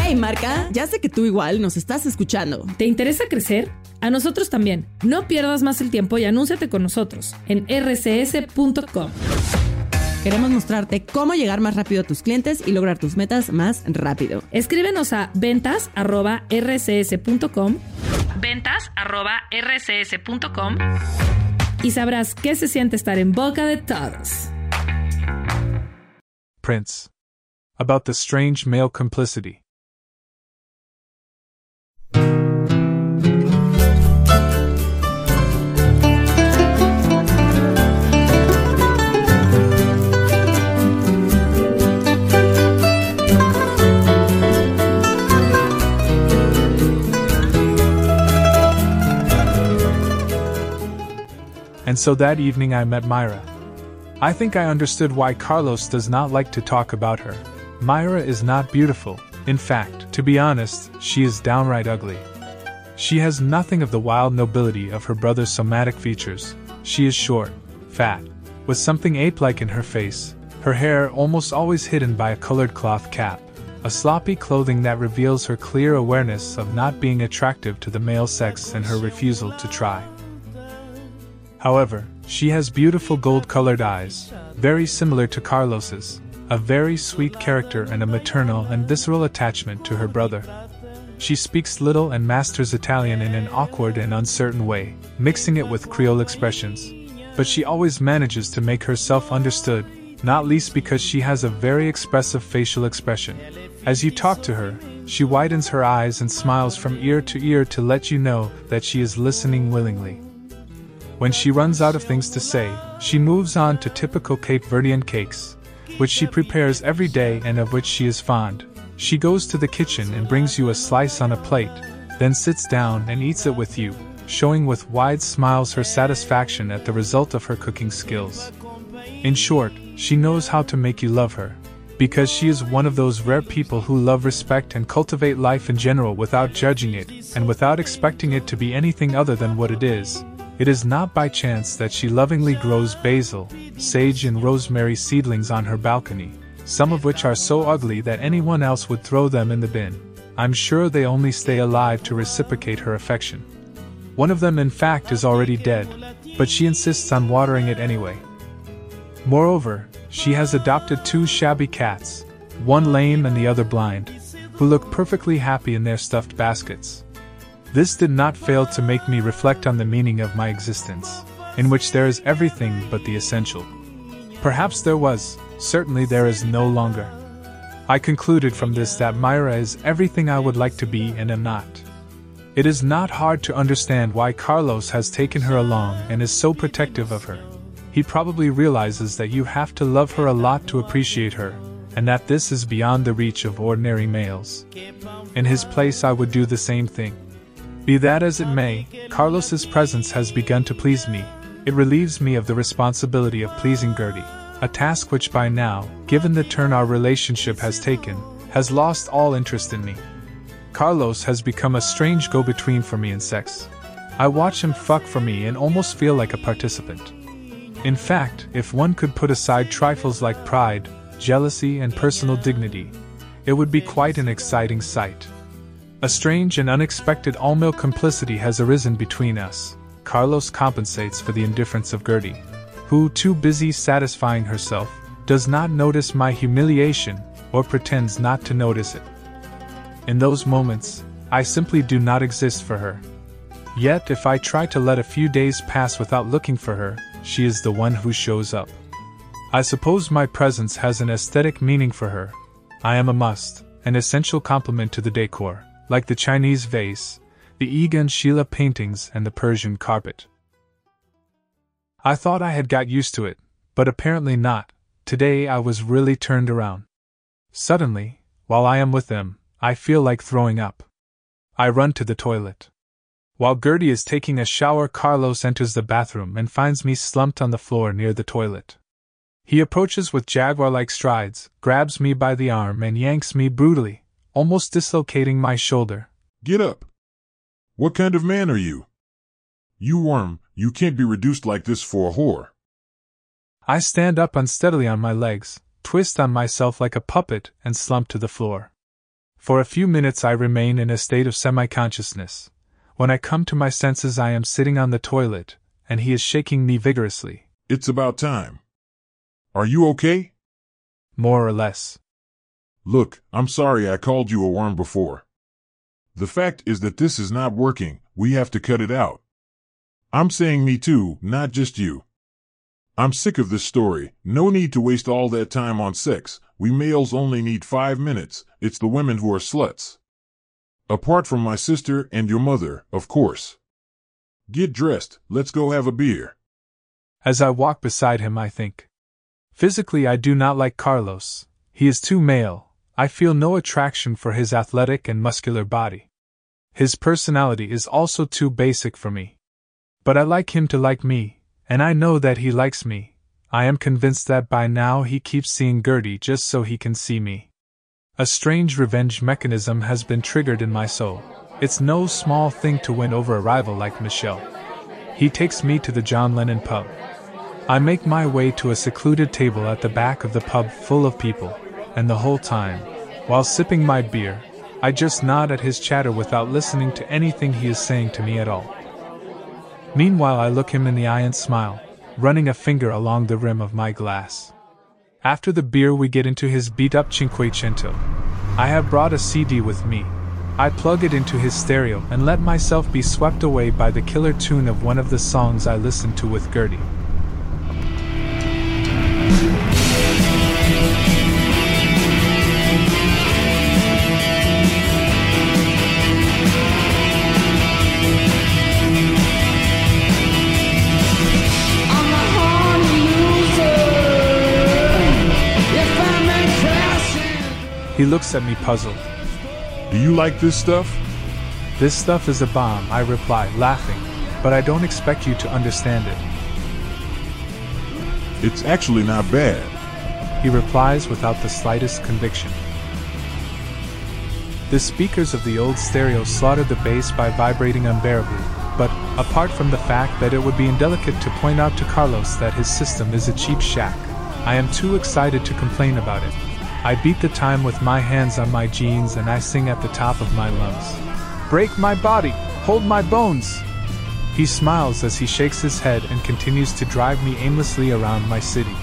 Hey marca, ya sé que tú igual nos estás escuchando. ¿Te interesa crecer? A nosotros también. No pierdas más el tiempo y anúnciate con nosotros en rcs.com. Queremos mostrarte cómo llegar más rápido a tus clientes y lograr tus metas más rápido. Escríbenos a ventas@rcs.com ventas@rcs.com y sabrás qué se siente estar en boca de todos. Prince. About the strange male complicity. And so that evening I met Myra. I think I understood why Carlos does not like to talk about her. Myra is not beautiful. In fact, to be honest, she is downright ugly. She has nothing of the wild nobility of her brother's somatic features. She is short, fat, with something ape-like in her face, her hair almost always hidden by a colored cloth cap, a sloppy clothing that reveals her clear awareness of not being attractive to the male sex and her refusal to try. However, she has beautiful gold-colored eyes, very similar to Carlos's, a very sweet character and a maternal and visceral attachment to her brother. She speaks little and masters Italian in an awkward and uncertain way, mixing it with Creole expressions, but she always manages to make herself understood, not least because she has a very expressive facial expression. As you talk to her, she widens her eyes and smiles from ear to ear to let you know that she is listening willingly. When she runs out of things to say, she moves on to typical Cape Verdean cakes, which she prepares every day and of which she is fond. She goes to the kitchen and brings you a slice on a plate, then sits down and eats it with you, showing with wide smiles her satisfaction at the result of her cooking skills. In short, she knows how to make you love her, because she is one of those rare people who love respect and cultivate life in general without judging it, and without expecting it to be anything other than what it is. It is not by chance that she lovingly grows basil, sage and rosemary seedlings on her balcony, some of which are so ugly that anyone else would throw them in the bin. I'm sure they only stay alive to reciprocate her affection. One of them in fact is already dead, but she insists on watering it anyway. Moreover, she has adopted 2 shabby cats, one lame and the other blind, who look perfectly happy in their stuffed baskets. This did not fail to make me reflect on the meaning of my existence, in which there is everything but the essential. Perhaps there was, certainly there is no longer. I concluded from this that Myra is everything I would like to be and am not. It is not hard to understand why Carlos has taken her along and is so protective of her. He probably realizes that you have to love her a lot to appreciate her, and that this is beyond the reach of ordinary males. In his place I would do the same thing. Be that as it may, Carlos's presence has begun to please me. It relieves me of the responsibility of pleasing Gertie, a task which by now, given the turn our relationship has taken, has lost all interest in me. Carlos has become a strange go-between for me in sex. I watch him fuck for me and almost feel like a participant. In fact, if one could put aside trifles like pride, jealousy and personal dignity, it would be quite an exciting sight. A strange and unexpected all-male complicity has arisen between us. Carlos compensates for the indifference of Gertie, who, too busy satisfying herself, does not notice my humiliation, or pretends not to notice it. In those moments, I simply do not exist for her. Yet if I try to let a few days pass without looking for her, she is the one who shows up. I suppose my presence has an aesthetic meaning for her. I am a must, an essential complement to the decor, like the Chinese vase, the Egon Schiele paintings and the Persian carpet. I thought I had got used to it, but apparently not. Today I was really turned around. Suddenly, while I am with them, I feel like throwing up. I run to the toilet. While Gertie is taking a shower, Carlos enters the bathroom and finds me slumped on the floor near the toilet. He approaches with jaguar-like strides, grabs me by the arm and yanks me brutally, almost dislocating my shoulder. Get up! What kind of man are you? You worm, you can't be reduced like this for a whore. I stand up unsteadily on my legs, twist on myself like a puppet and slump to the floor. For a few minutes I remain in a state of semi-consciousness. When I come to my senses I am sitting on the toilet, and he is shaking me vigorously. It's about time. Are you okay? More or less. Look, I'm sorry I called you a worm before. The fact is that this is not working, we have to cut it out. I'm saying me too, not just you. I'm sick of this story, no need to waste all that time on sex, we males only need 5 minutes, it's the women who are sluts. Apart from my sister and your mother, of course. Get dressed, let's go have a beer. As I walk beside him I think. Physically I do not like Carlos, he is too male, I feel no attraction for his athletic and muscular body. His personality is also too basic for me. But I like him to like me, and I know that he likes me. I am convinced that by now he keeps seeing Gertie just so he can see me. A strange revenge mechanism has been triggered in my soul. It's no small thing to win over a rival like Michelle. He takes me to the John Lennon pub. I make my way to a secluded table at the back of the pub full of people, and the whole time, while sipping my beer, I just nod at his chatter without listening to anything he is saying to me at all. Meanwhile I look him in the eye and smile, running a finger along the rim of my glass. After the beer we get into his beat-up Cinquecento. I have brought a CD with me. I plug it into his stereo and let myself be swept away by the killer tune of one of the songs I listened to with Gertie. He looks at me puzzled. Do you like this stuff? This stuff is a bomb, I reply, laughing, but I don't expect you to understand it. It's actually not bad, he replies without the slightest conviction. The speakers of the old stereo slaughtered the bass by vibrating unbearably, but, apart from the fact that it would be indelicate to point out to Carlos that his system is a cheap shack, I am too excited to complain about it. I beat the time with my hands on my jeans and I sing at the top of my lungs. Break my body! Hold my bones! He smiles as he shakes his head and continues to drive me aimlessly around my city.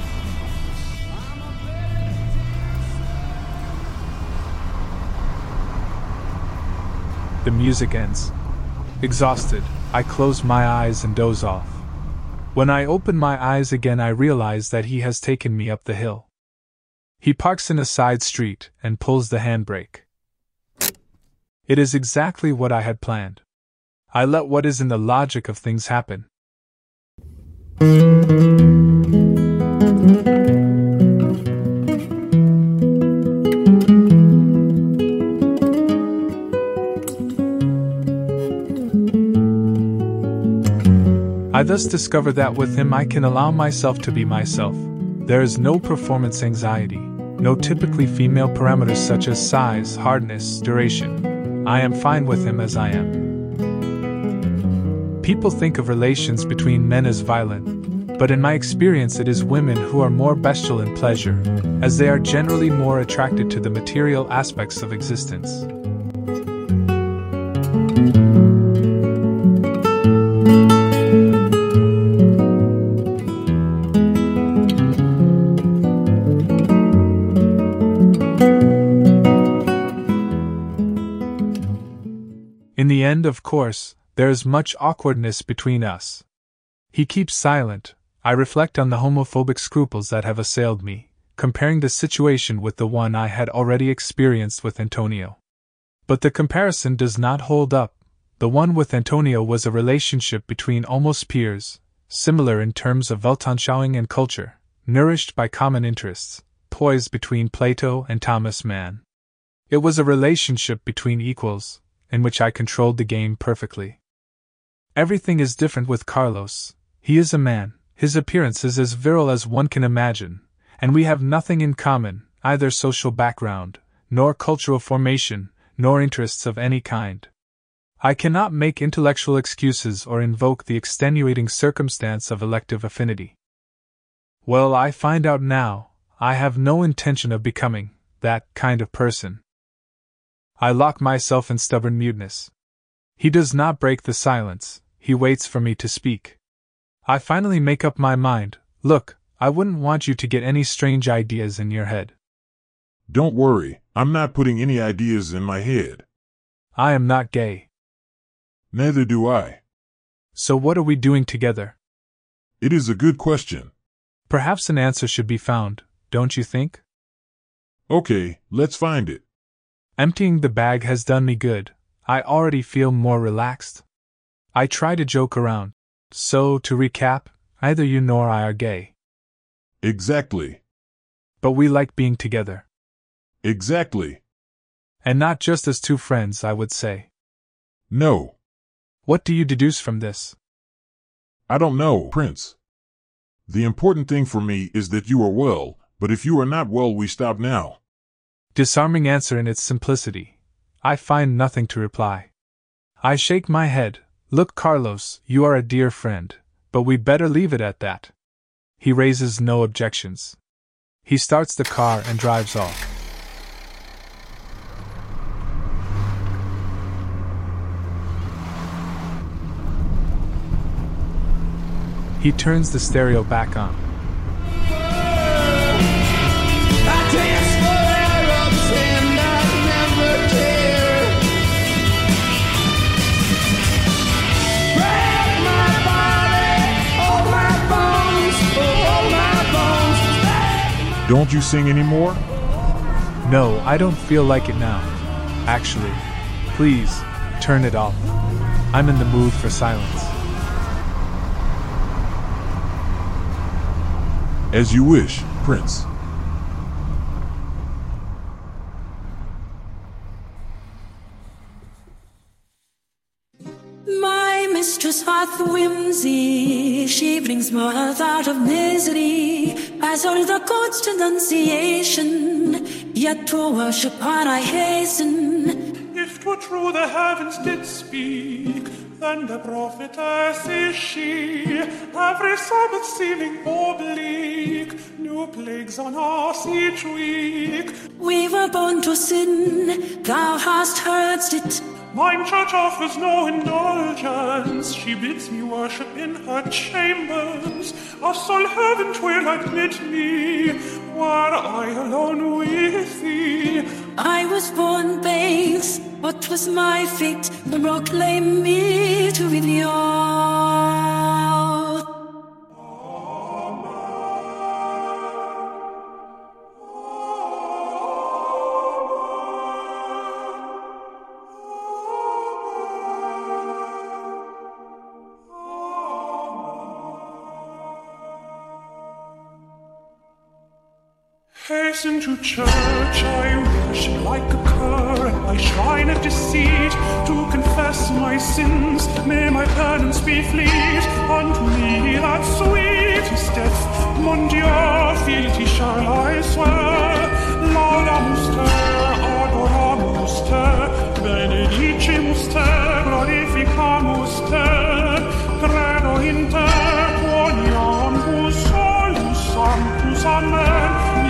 The music ends. Exhausted, I close my eyes and doze off. When I open my eyes again I realize that he has taken me up the hill. He parks in a side street and pulls the handbrake. It is exactly what I had planned. I let what is in the logic of things happen. I thus discover that with him I can allow myself to be myself. There is no performance anxiety, no typically female parameters such as size, hardness, duration. I am fine with him as I am. People think of relations between men as violent, but in my experience it is women who are more bestial in pleasure, as they are generally more attracted to the material aspects of existence. In the end, of course, there is much awkwardness between us. He keeps silent. I reflect on the homophobic scruples that have assailed me, comparing the situation with the one I had already experienced with Antonio. But the comparison does not hold up. The one with Antonio was a relationship between almost peers, similar in terms of Weltanschauung and culture, nourished by common interests, poised between Plato and Thomas Mann. It was a relationship between equals, in which I controlled the game perfectly. Everything is different with Carlos. He is a man, his appearance is as virile as one can imagine, and we have nothing in common, either social background, nor cultural formation, nor interests of any kind. I cannot make intellectual excuses or invoke the extenuating circumstance of elective affinity. Well, I find out now, I have no intention of becoming that kind of person. I lock myself in stubborn muteness. He does not break the silence, he waits for me to speak. I finally make up my mind. Look, I wouldn't want you to get any strange ideas in your head. Don't worry, I'm not putting any ideas in my head. I am not gay. Neither do I. So what are we doing together? It is a good question. Perhaps an answer should be found, don't you think? Okay, let's find it. Emptying the bag has done me good. I already feel more relaxed. I try to joke around. So, to recap, neither you nor I are gay. Exactly. But we like being together. Exactly. And not just as two friends, I would say. No. What do you deduce from this? I don't know, Prince. The important thing for me is that you are well, but if you are not well, we stop now. Disarming answer in its simplicity. I find nothing to reply. I shake my head. Look, Carlos, you are a dear friend, but we better leave it at that. He raises no objections. He starts the car and drives off. He turns the stereo back on. Don't you sing anymore? No, I don't feel like it now. Actually, please, turn it off. I'm in the mood for silence. As you wish, Prince. My mistress hath whimsy, she brings mirth out of misery. As all the court's denunciation, yet to worship her I hasten. If 'twere true the heavens did speak, then the prophetess is she. Every Sabbath seeming oblique, new plagues on us each week. We were born to sin, thou hast heard it. Mine church offers no indulgence, she bids me worship in her chambers. A soul heaven 'twill admit me, were I alone with thee. I was born base, what was my fate? Proclaim me to be the oath. Hasten to church, I worship like a cur at my shrine of deceit, to confess my sins, may my penance be fleet. Unto me that sweetest death, mon Dieu, fealty shall I swear. Laudamus te, adoramus te, benedicimus te, glorificamus te, credo in te, quoniambus solus sanctus, amen.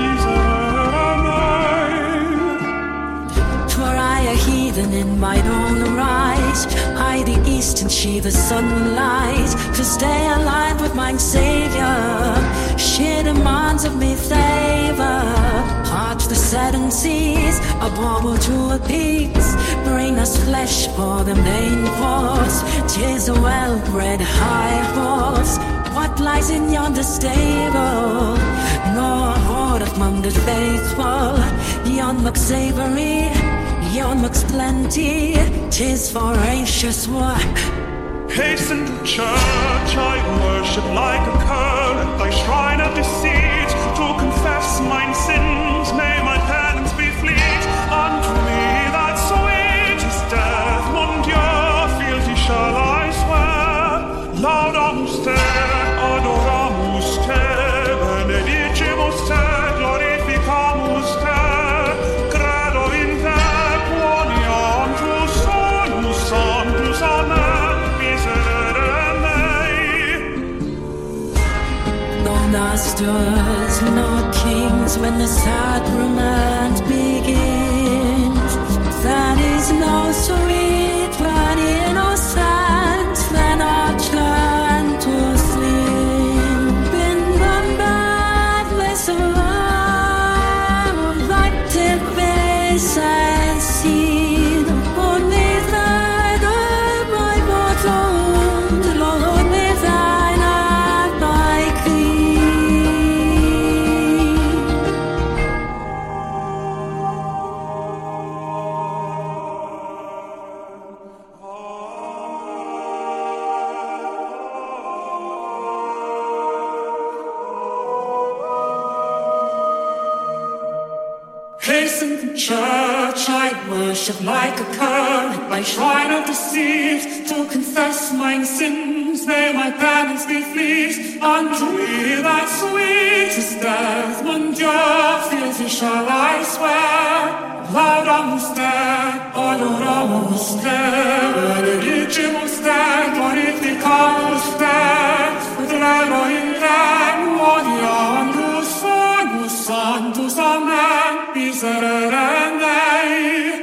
Heathen in mine own right, I the east and she the sunlight, to stay aligned with mine Savior. She demands of me favor, heart to the seven seas, a bauble to a peace. Bring us flesh for the main course, 'tis a well-bred high horse. What lies in yonder stable? No horde of mummed faithful, yon looks savory. Yon looks plenty, 'tis voracious work. Hasten to church, I worship like a cur at thy shrine of deceit, to confess mine sins, may my penance be fleet. Unto me that sweetest death, mon Dieu, fealty shall I swear. Laudamus te, adoramus te, benedicimus te, glorificamus te. Masters, no kings, when the sacrament begins. That church I worship like a cur at my shrine of deceit. To confess my sins, may my penance be fleet. Unto me that sweetest death, mon Dieu, fealty shall I swear. Laudamus Te, adoramus Te, benedicimus Te, glorificamus Te, vedremo in Te, odiandus sonus santus, amen, miserere Dei.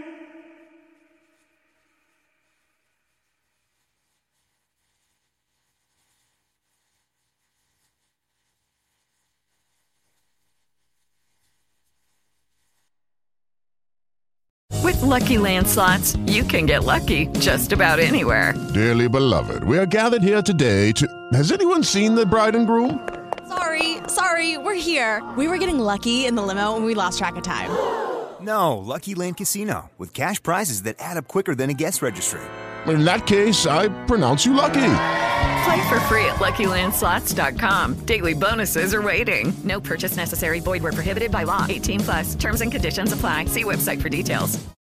With Lucky Land Slots, you can get lucky just about anywhere. Dearly beloved, we are gathered here today to... Has anyone seen the bride and groom? Sorry, we're here. We were getting lucky in the limo and we lost track of time. No, Lucky Land Casino, with cash prizes that add up quicker than a guest registry. In that case, I pronounce you lucky. Play for free at LuckyLandSlots.com. Daily bonuses are waiting. No purchase necessary. Void where prohibited by law. 18+. Terms and conditions apply. See website for details.